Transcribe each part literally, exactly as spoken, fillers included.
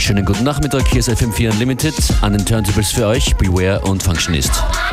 Schönen guten Nachmittag, hier ist F M vier Unlimited. An den Turntables für euch, Beware und Functionist.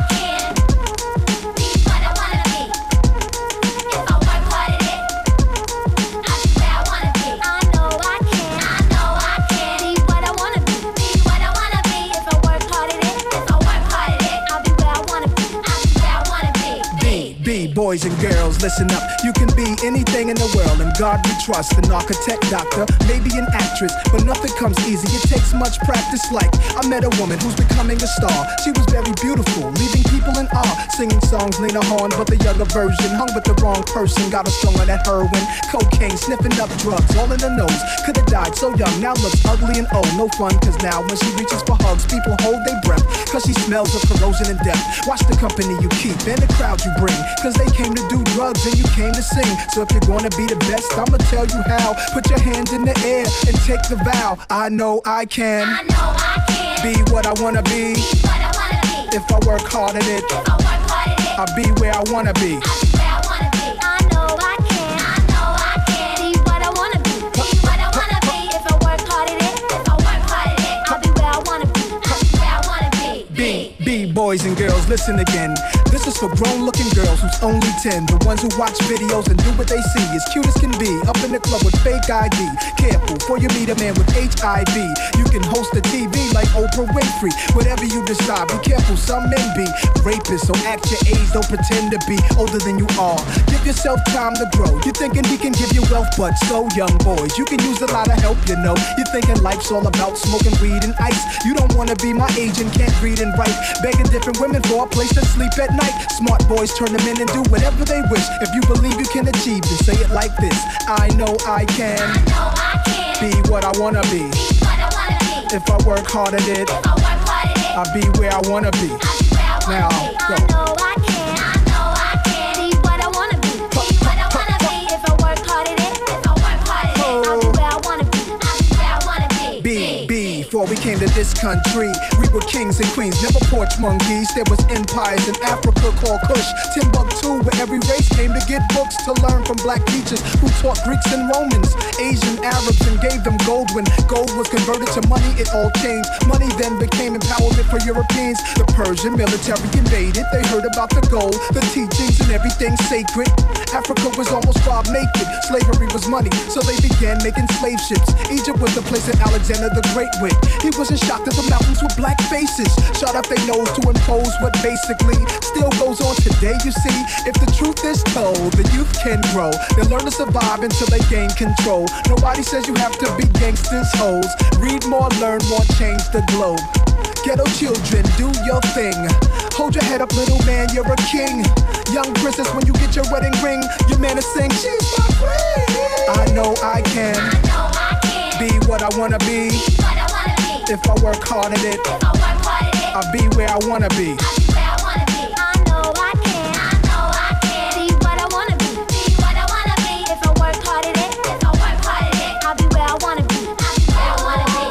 Boys and girls, listen up. You can be anything in the world, and God we trust. An architect, doctor, maybe an actress, but nothing comes easy. It takes much practice. Like I met a woman who's becoming a star. She was very beautiful, leaving people in awe. Singing songs, Lena Horne, but the younger version. Hung with the wrong person, got her strung on that heroin, cocaine, sniffing up drugs, all in the nose. Could have died so young, now looks ugly and old. No fun, cause now when she reaches for hugs, people hold their breath, cause she smells of corrosion and death. Watch the company you keep and the crowd you bring, cause they came to do drugs and you came to sing. So if you're gonna be the best, I'ma tell you how. Put your hands in the air and take the vow. I know I can, I know I can be what I wanna be. Be what I wanna be. If I work hard at it, If I work hard at it, I'll be where I wanna be. I'll be where I wanna be. I know I can, I know I can be what I wanna be. Be what I wanna be. If I work hard at it, if I work hard at it, I'll be where I wanna be. I'll be where I wanna be. Be, be, boys and girls, listen again. This is for grown-looking girls who's only ten. The ones who watch videos and do what they see. As cute as can be, up in the club with fake I D. Careful, before you meet a man with H I V. You can host a T V like Oprah Winfrey. Whatever you decide, be careful, some men be rapists. So act your age, don't pretend to be older than you are. Give yourself time to grow. You're thinking he can give you wealth, but so young boys, you can use a lot of help, you know. You're thinking life's all about smoking weed and ice. You don't wanna be my age and can't read and write. Begging different women for a place to sleep at night. Smart boys turn them in and do whatever they wish. If you believe you can achieve, then say it like this. I know I can, I know I can be what I wanna be. be what I wanna be. If I work hard at it, If I work hard at it, I'll be where I wanna be. I'll be where I wanna Now, be. go. I know I can, I know I can be what I wanna be. Be what I wanna be. If I work hard at it, if I work hard at it, I'll be where I wanna be. I'll be where I wanna be. Be, be, before we came to this country, we were kings and queens, never porch monkeys. There was empires in Africa called Kush, Timbuktu, where every race came to get books to learn from black teachers who taught Greeks and Romans, Asian Arabs, and gave them gold. When gold was converted to money, it all changed. Money then became empowerment for Europeans. The Persian military invaded. They heard about the gold, the teachings, and everything sacred. Africa was almost starved naked. Slavery was money, so they began making slave ships. Egypt was the place that Alexander the Great went. He wasn't shocked at the mountains with black faces, shot up their nose to impose what basically still goes on today. You see, if the truth is told, the youth can grow. They learn to survive until they gain control. Nobody says you have to be gangsters, hoes. Read more, learn more, change the globe. Ghetto children, do your thing. Hold your head up, little man, you're a king. Young princess, when you get your wedding ring, your man is saying, she's my queen. I know I can, I know I can be what I wanna be. be what I wanna be. If I work hard at it, If I work hard at it, I'll be where I wanna be. I'll be where I wanna be. I know I can, I know I can be what I wanna be. Be what I wanna be. If I work hard at it, if I work hard at it, I'll be where I wanna be. I'll be where I wanna be.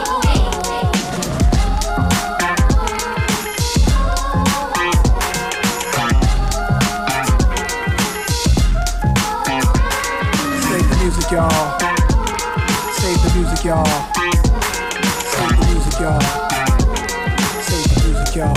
Save the music, y'all. Save the music, y'all. Save the music, y'all. Save the music, y'all.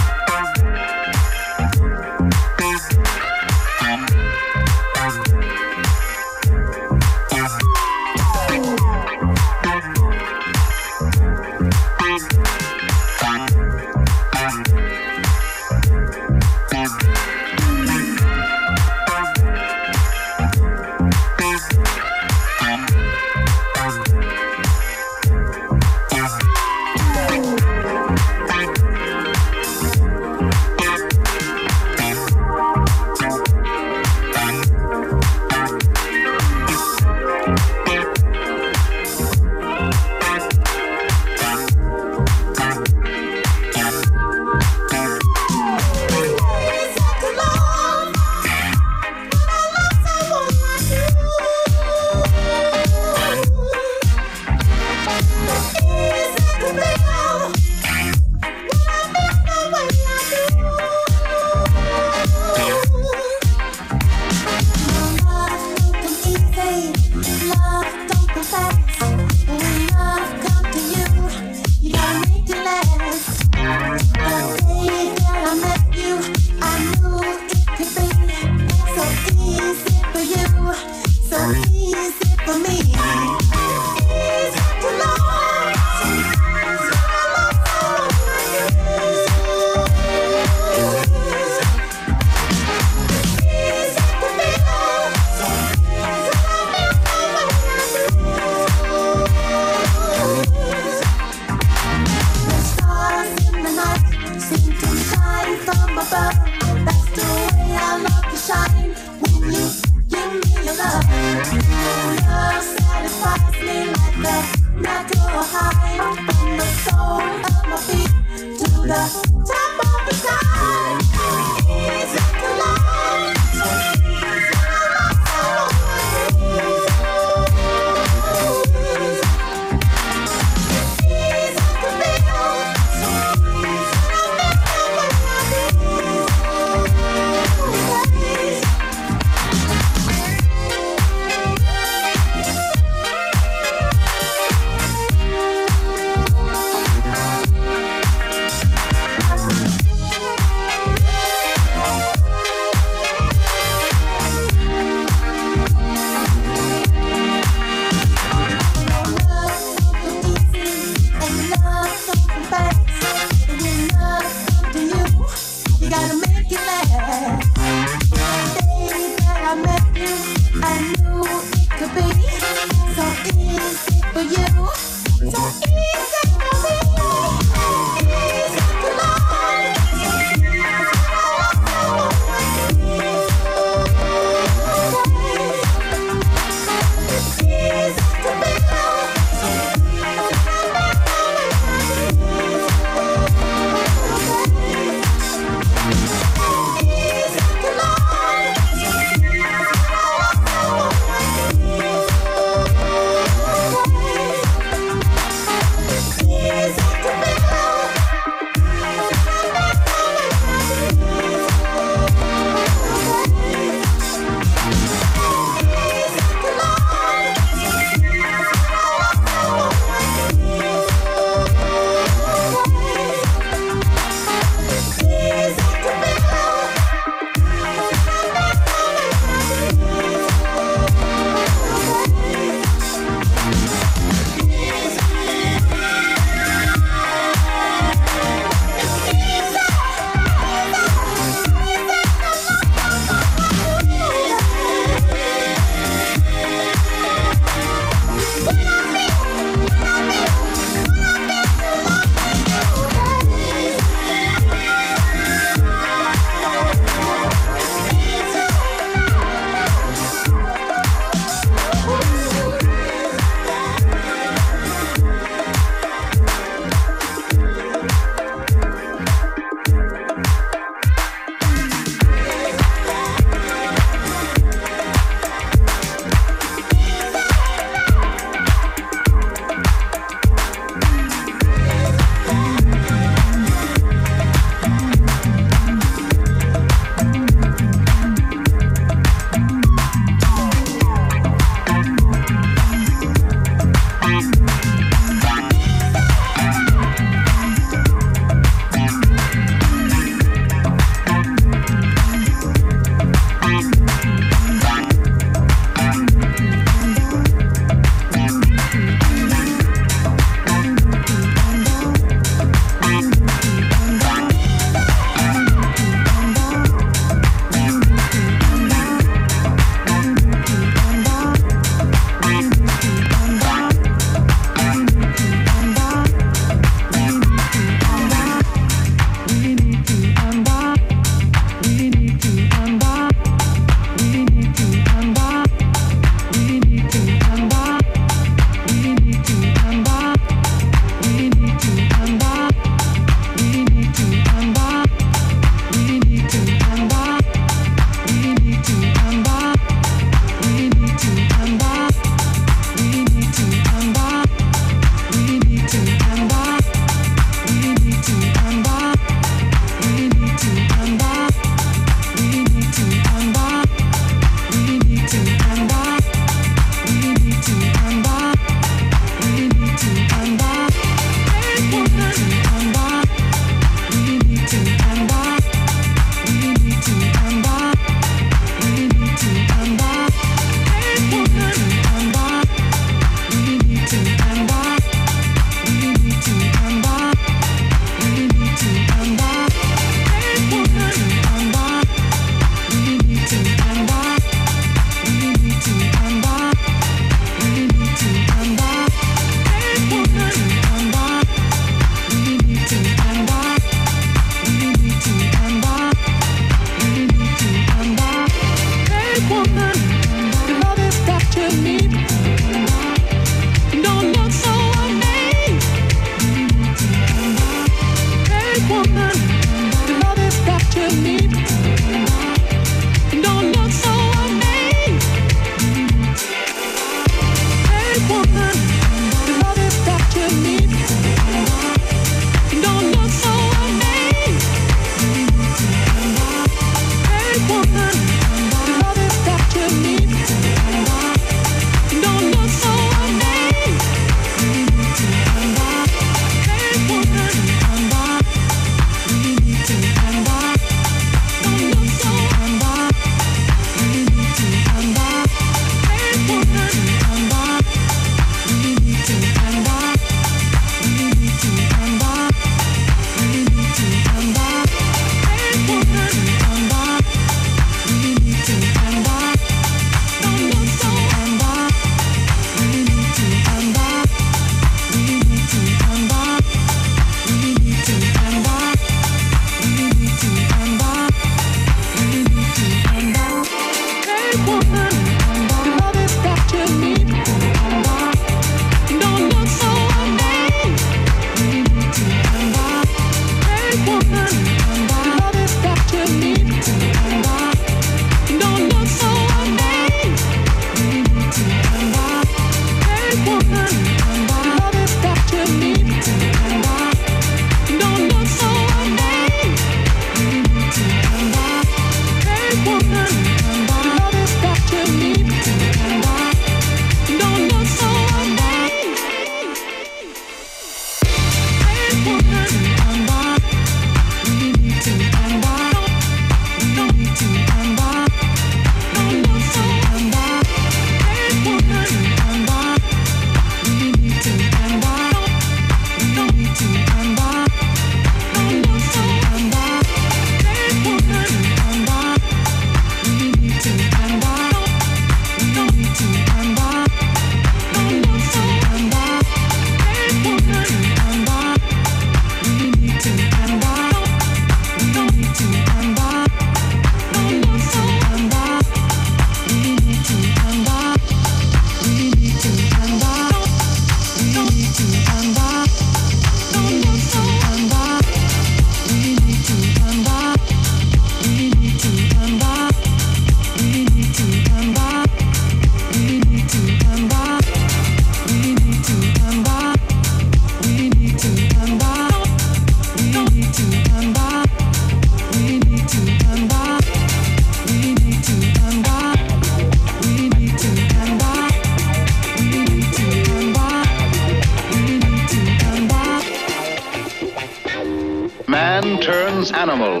Man turns animal.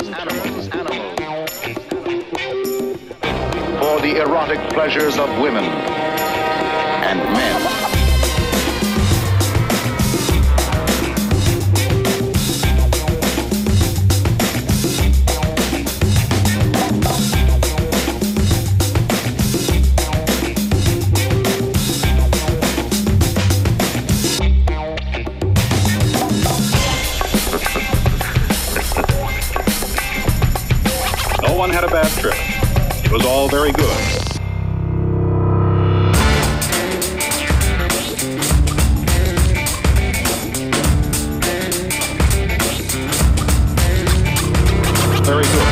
For the erotic pleasures of women and men. No one had a bad trip. It was all very good. Very good.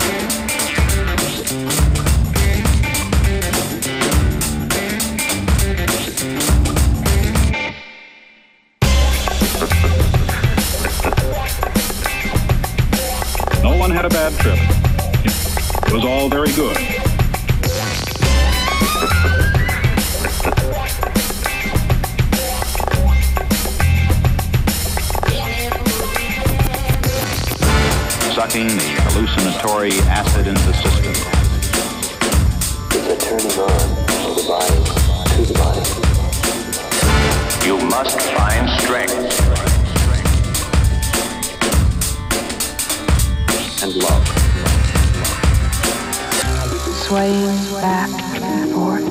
No one had a bad trip. It was all very good. Sucking the hallucinatory acid into the system. It's a turning on of the body to the body. You must find strength And love. Swaying back and forth.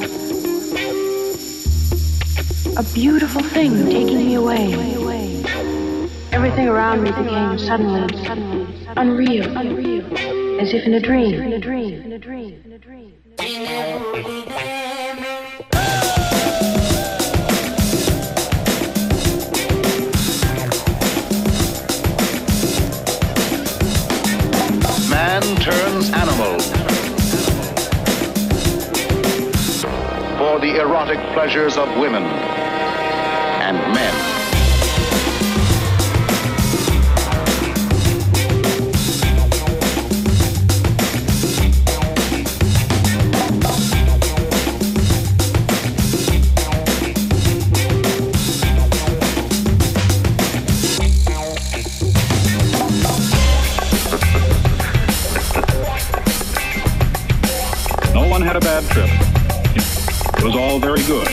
A beautiful thing taking me away. Everything around me became suddenly unreal, as if in a dream. Man turns animal. For the erotic pleasures of women and men. No one had a bad trip. It was all very good.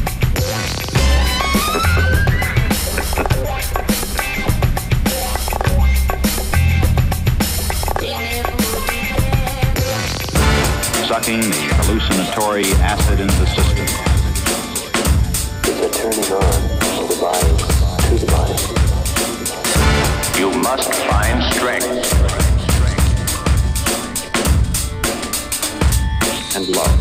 Sucking the hallucinatory acid into the system. It's a turning on of the body to the body. You must find strength And love.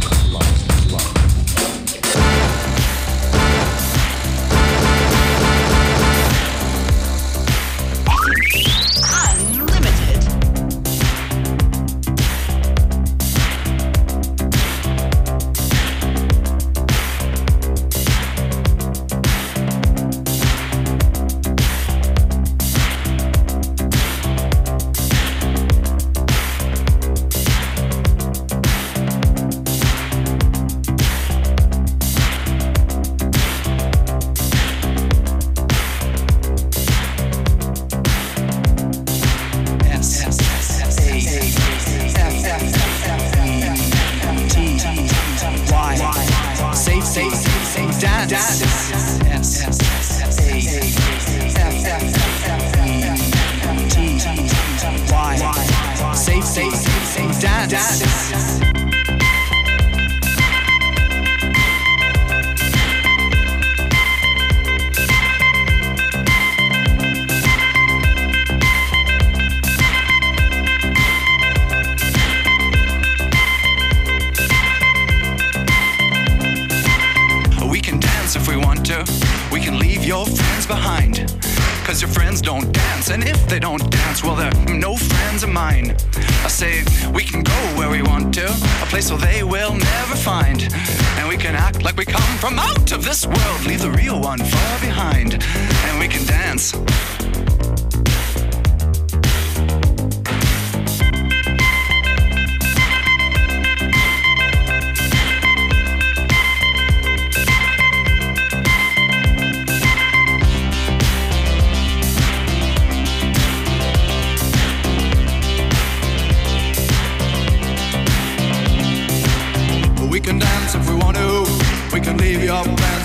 And if they don't dance, well, they're no friends of mine. I say, we can go where we want to, a place where they will never find. And we can act like we come from out of this world, leave the real one far behind. And we can dance.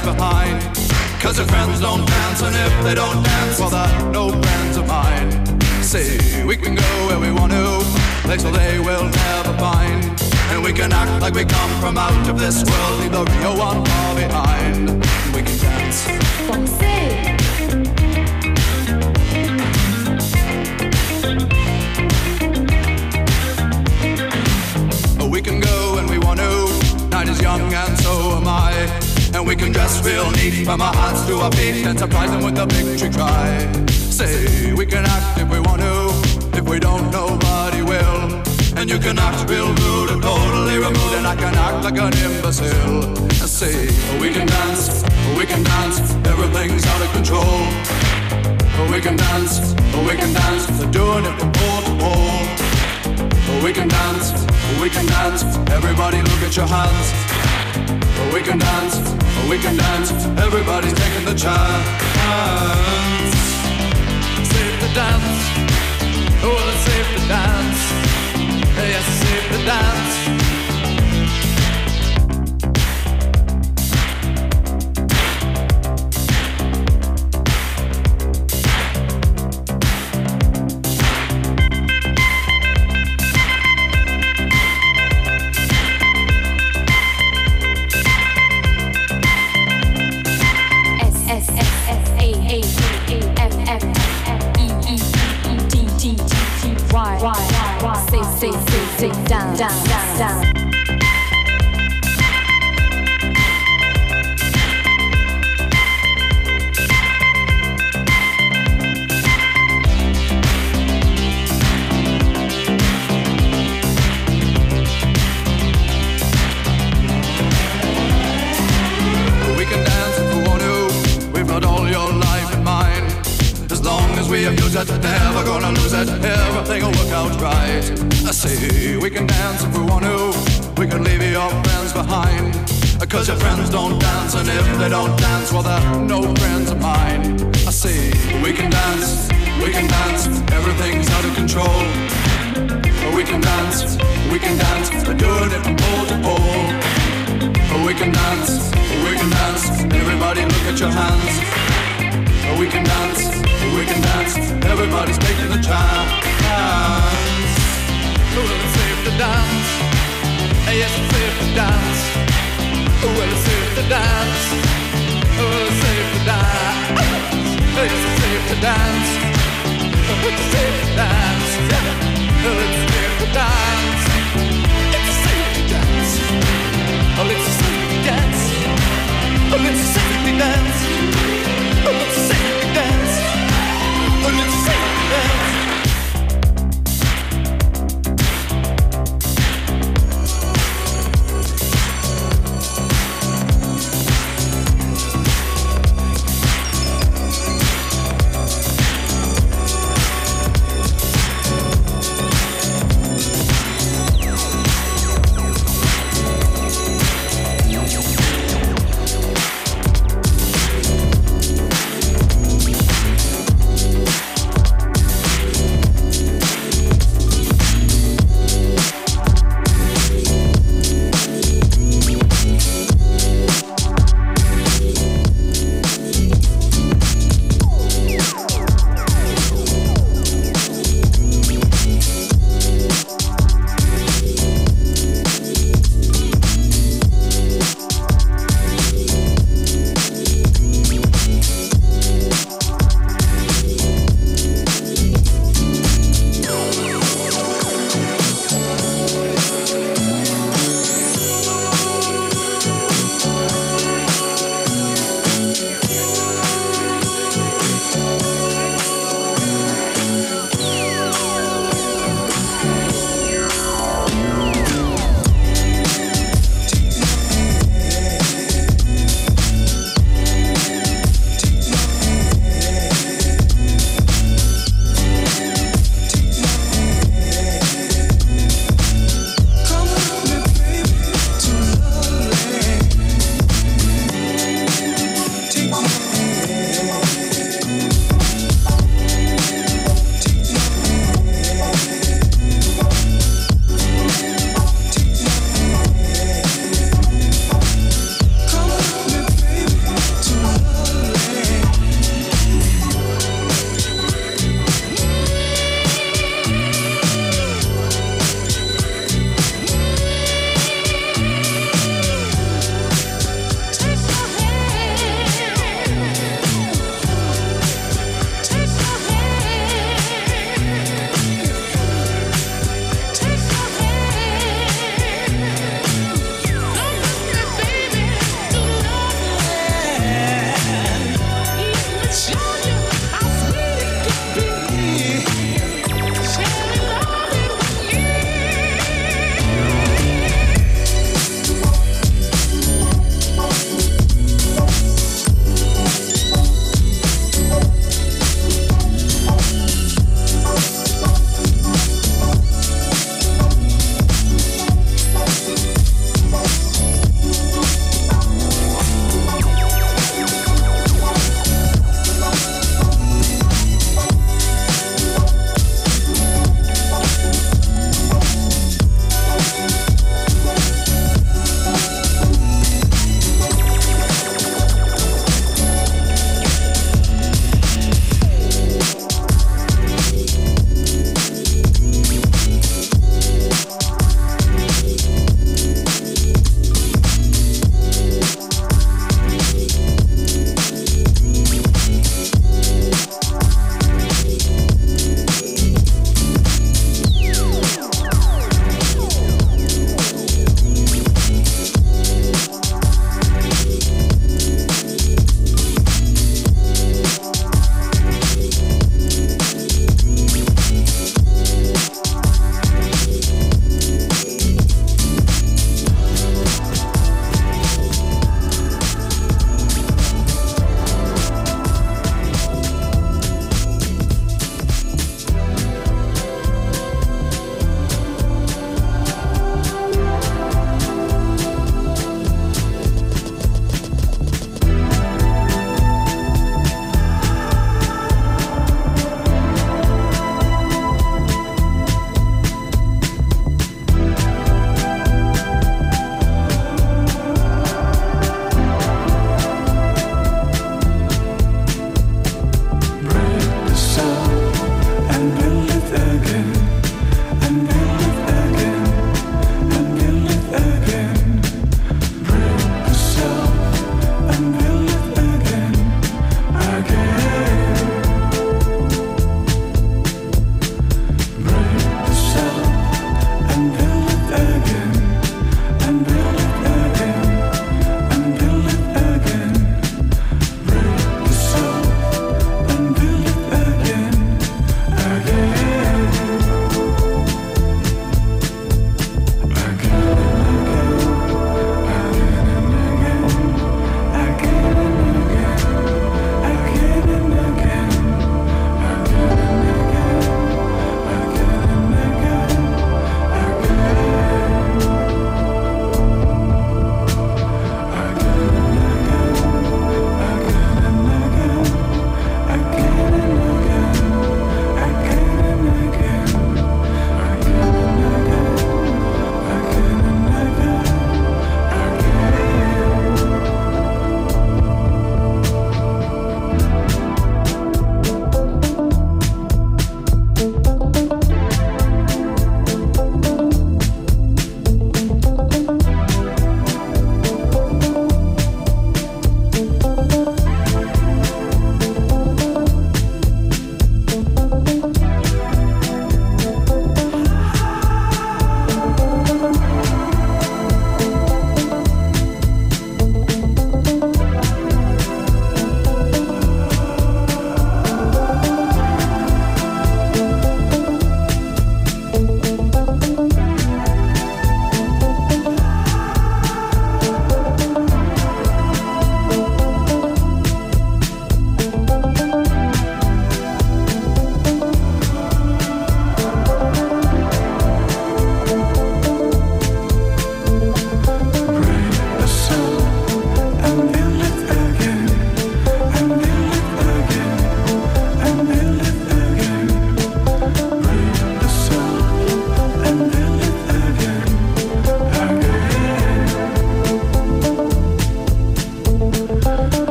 friends behind. Cause your friends don't dance, and if they don't dance, well, they're no friends of mine. See, we can go where we want to, place where they will never find. And we can act like we come from out of this world, leave the real one far behind. And we can dance. We can go when we want to, night is young and so am I. And we can dress real neat from our hands to our feet and surprise them with a victory cry. Say, we can act if we want to, if we don't, nobody will. And you can act real rude or totally removed, and I can act like an imbecile. And say, we can dance, we can dance, everything's out of control. We can dance, we can dance, they're doing it from pole to pole. We can dance, we can dance, everybody look at your hands. We can dance, we can dance, everybody's taking the chance. Safe to dance, oh it's safe to dance. Yes, it's safe to dance. Say, say, say, down, down, down, down. We can dance if we want to. We've got all your life in mind. As long as we abuse it, never gonna lose it. Everything will work out right. I say we can dance if we want to. We can leave your friends behind. Cause your friends don't dance, and if they don't dance, well they're no friends of mine. I say we can dance, we can dance, everything's out of control. We can dance, we can dance, they're doing it from pole to pole. We can dance, we can dance, everybody look at your hands. We can dance, we can dance, everybody's taking the chance. Well, it's safe to dance. Yes, it's safe to dance. Well, it's safe to dance. Well, it's safe to dance. Yes, it's safe to dance. It's safe to dance. Well, it's safe to dance. It's safe to dance. Oh, it's safe to dance. Oh, it's safe to dance. Oh, it's safe to dance. Oh, it's safe to dance.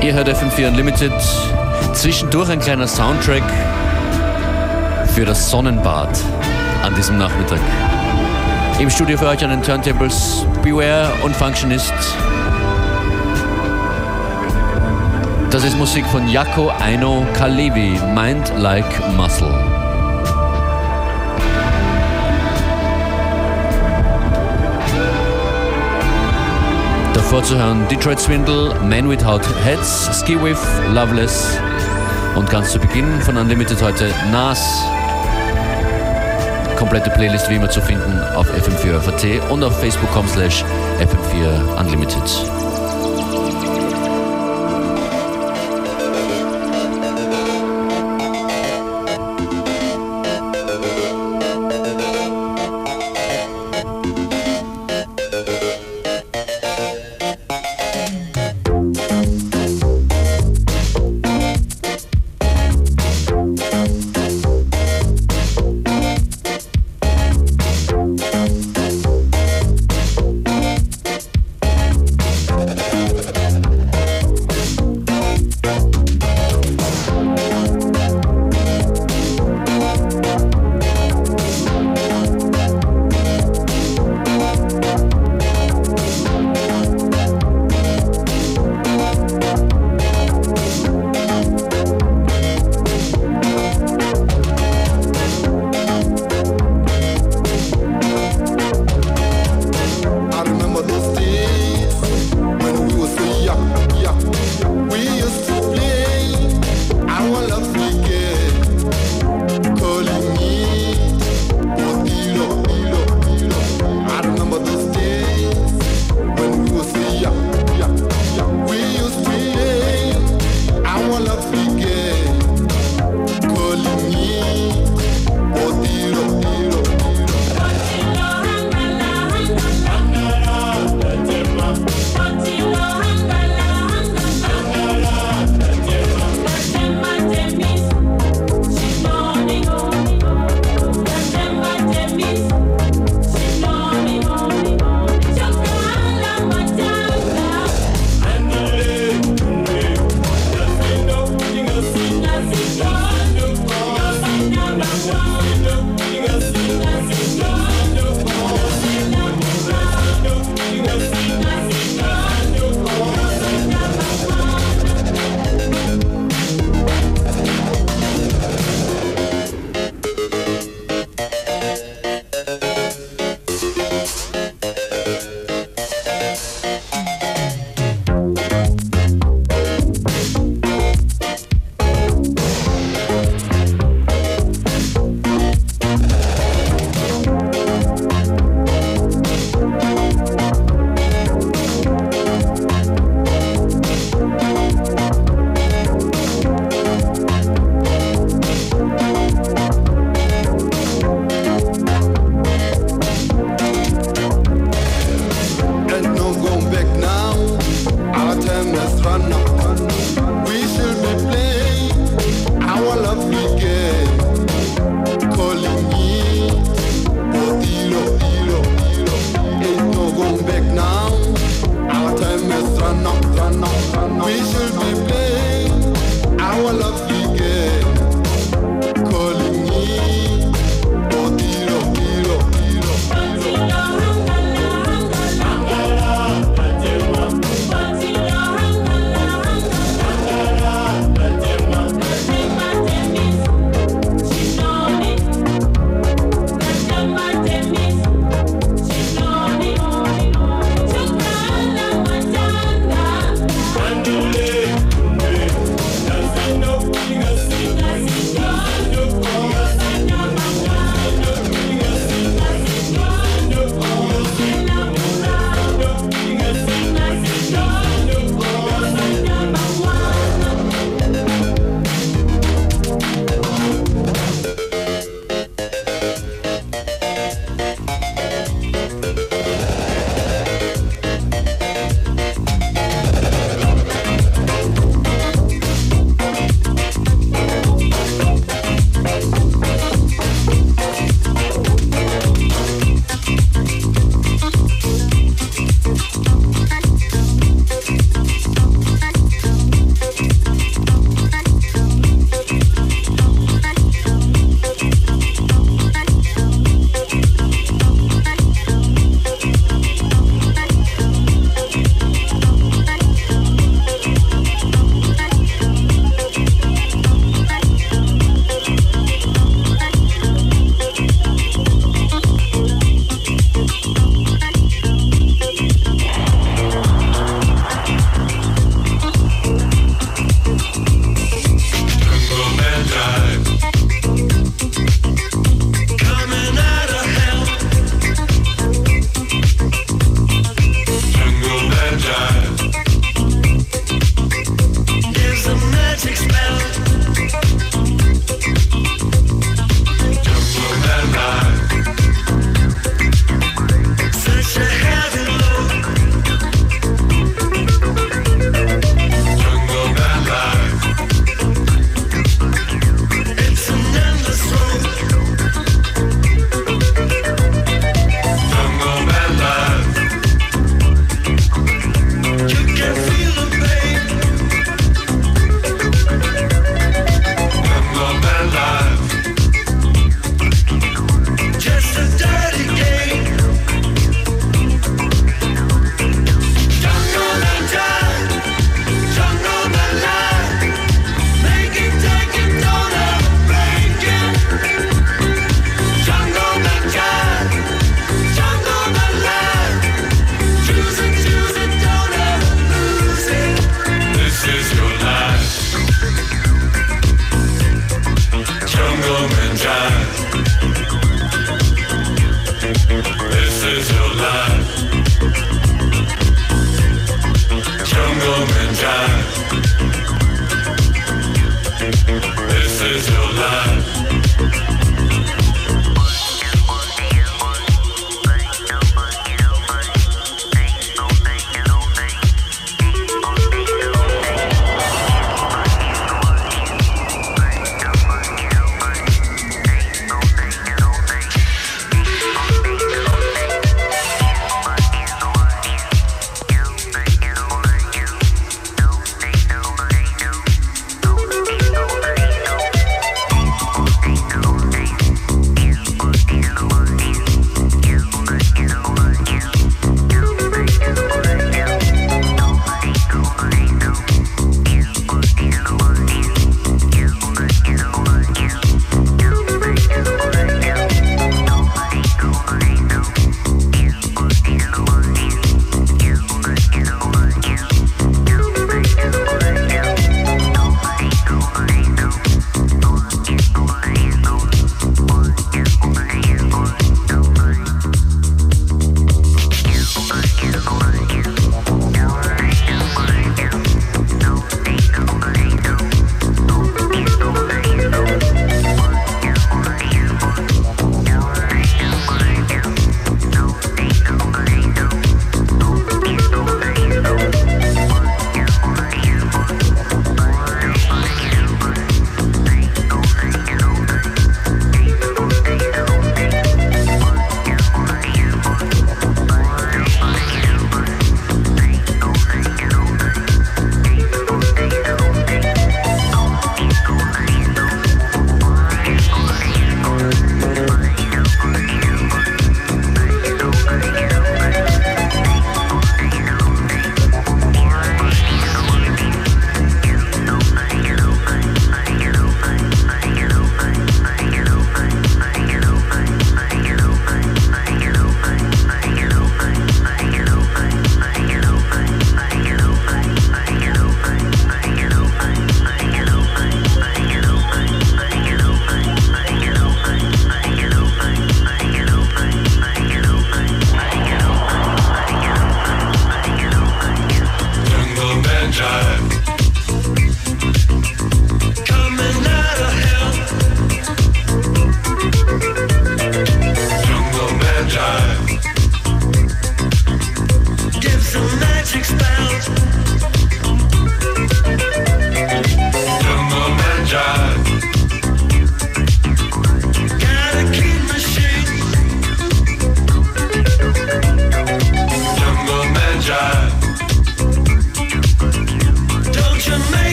Ihr hört F M vier Unlimited. Zwischendurch ein kleiner Soundtrack für das Sonnenbad an diesem Nachmittag. Im Studio für euch an den Turntables Beware und Functionist. Das ist Musik von Jaakko Eino Kalevi, Mind Like Muscle. Davor zu hören Detroit Swindle, Man Without Heads, Ski With, Loveless und ganz zu Beginn von Unlimited heute Nas. Komplette Playlist wie immer zu finden auf F M vier Punkt F A T und auf facebook punkt com slash F M vier Unlimited.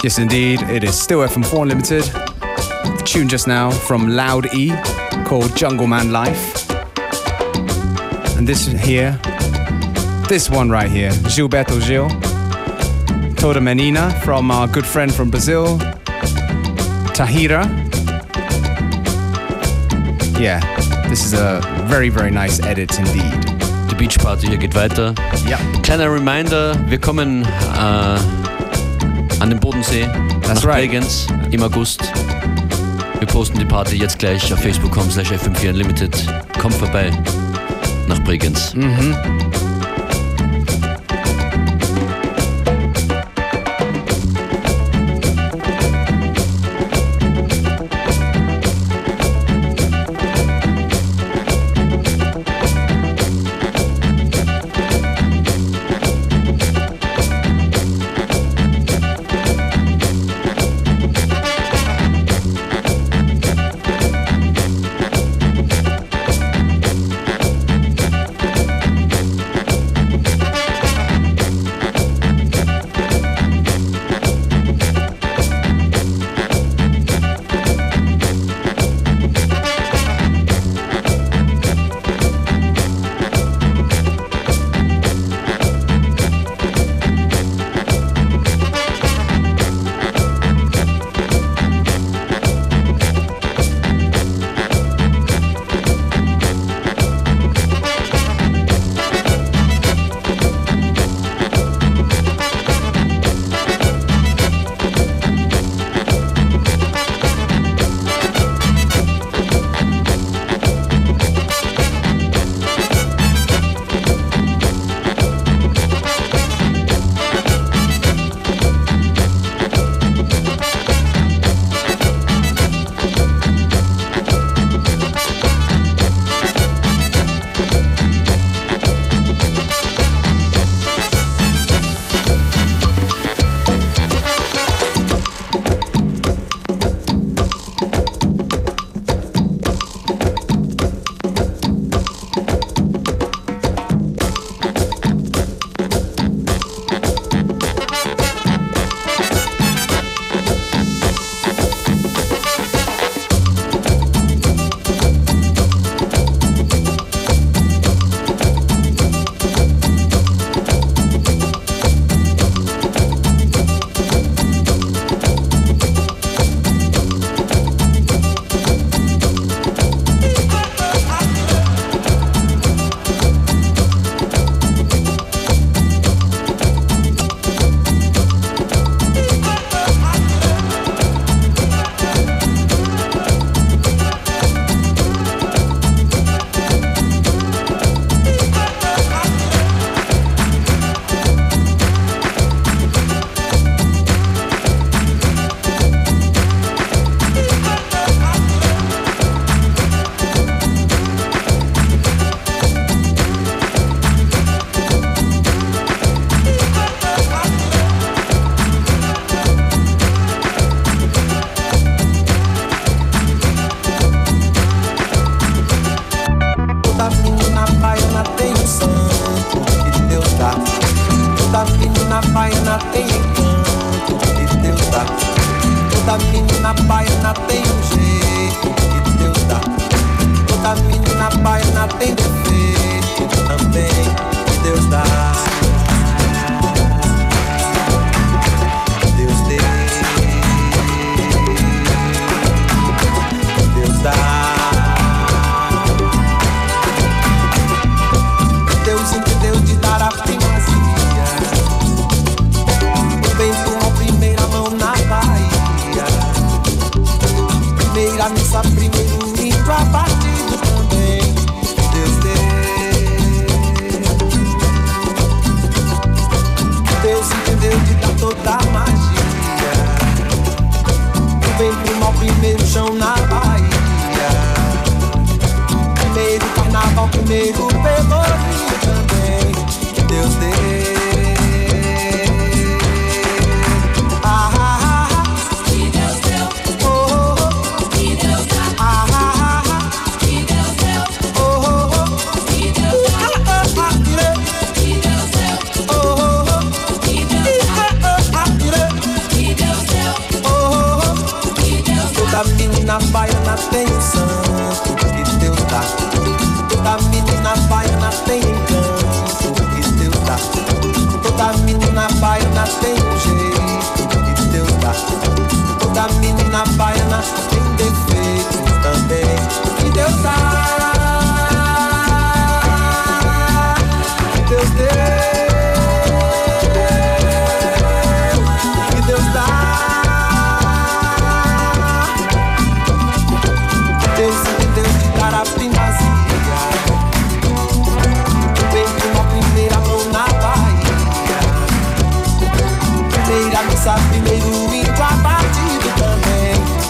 Yes, indeed. It is still F M four Unlimited. The tune just now from Loud E called Jungle Man Life. And this here, this one right here, Gilberto Gil. Toda Menina from our good friend from Brazil, Tahira. Yeah, this is a very, very nice edit indeed. Die Beach Party hier geht weiter. Ja. Kleiner Reminder, wir kommen äh, an den Bodensee That's nach right. Bregenz im August. Wir posten die Party jetzt gleich auf facebook punkt com slash f m vier unlimited. Kommt vorbei nach Bregenz. Mhm. Deus deu. Toda menina baiana tem um santo que Deus dá. Toda menina baiana tem encanto que Deus dá. Toda menina baiana tem um jeito que Deus dá. Toda menina baiana tem defeitos também que Deus dá. Que Deus deu, que Deus dá. Deus é Deus de dar a primazia. Vem com a primeira mão na Bahia. Primeira missa, primeiro índio abatido também.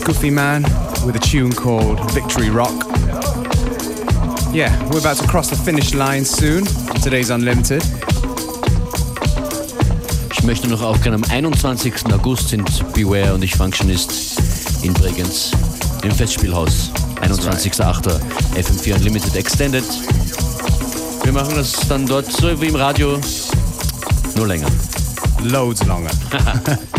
Goofy Man with a tune called Victory Rock. Yeah, we're about to cross the finish line soon. Today's Unlimited. Ich möchte noch aufgehen, am einundzwanzigsten August sind Beware und ich Functionist in Bregenz im Festspielhaus. einundzwanzigster achter F M vier Unlimited Extended. Wir machen das dann dort so wie im Radio, nur länger. Loads longer.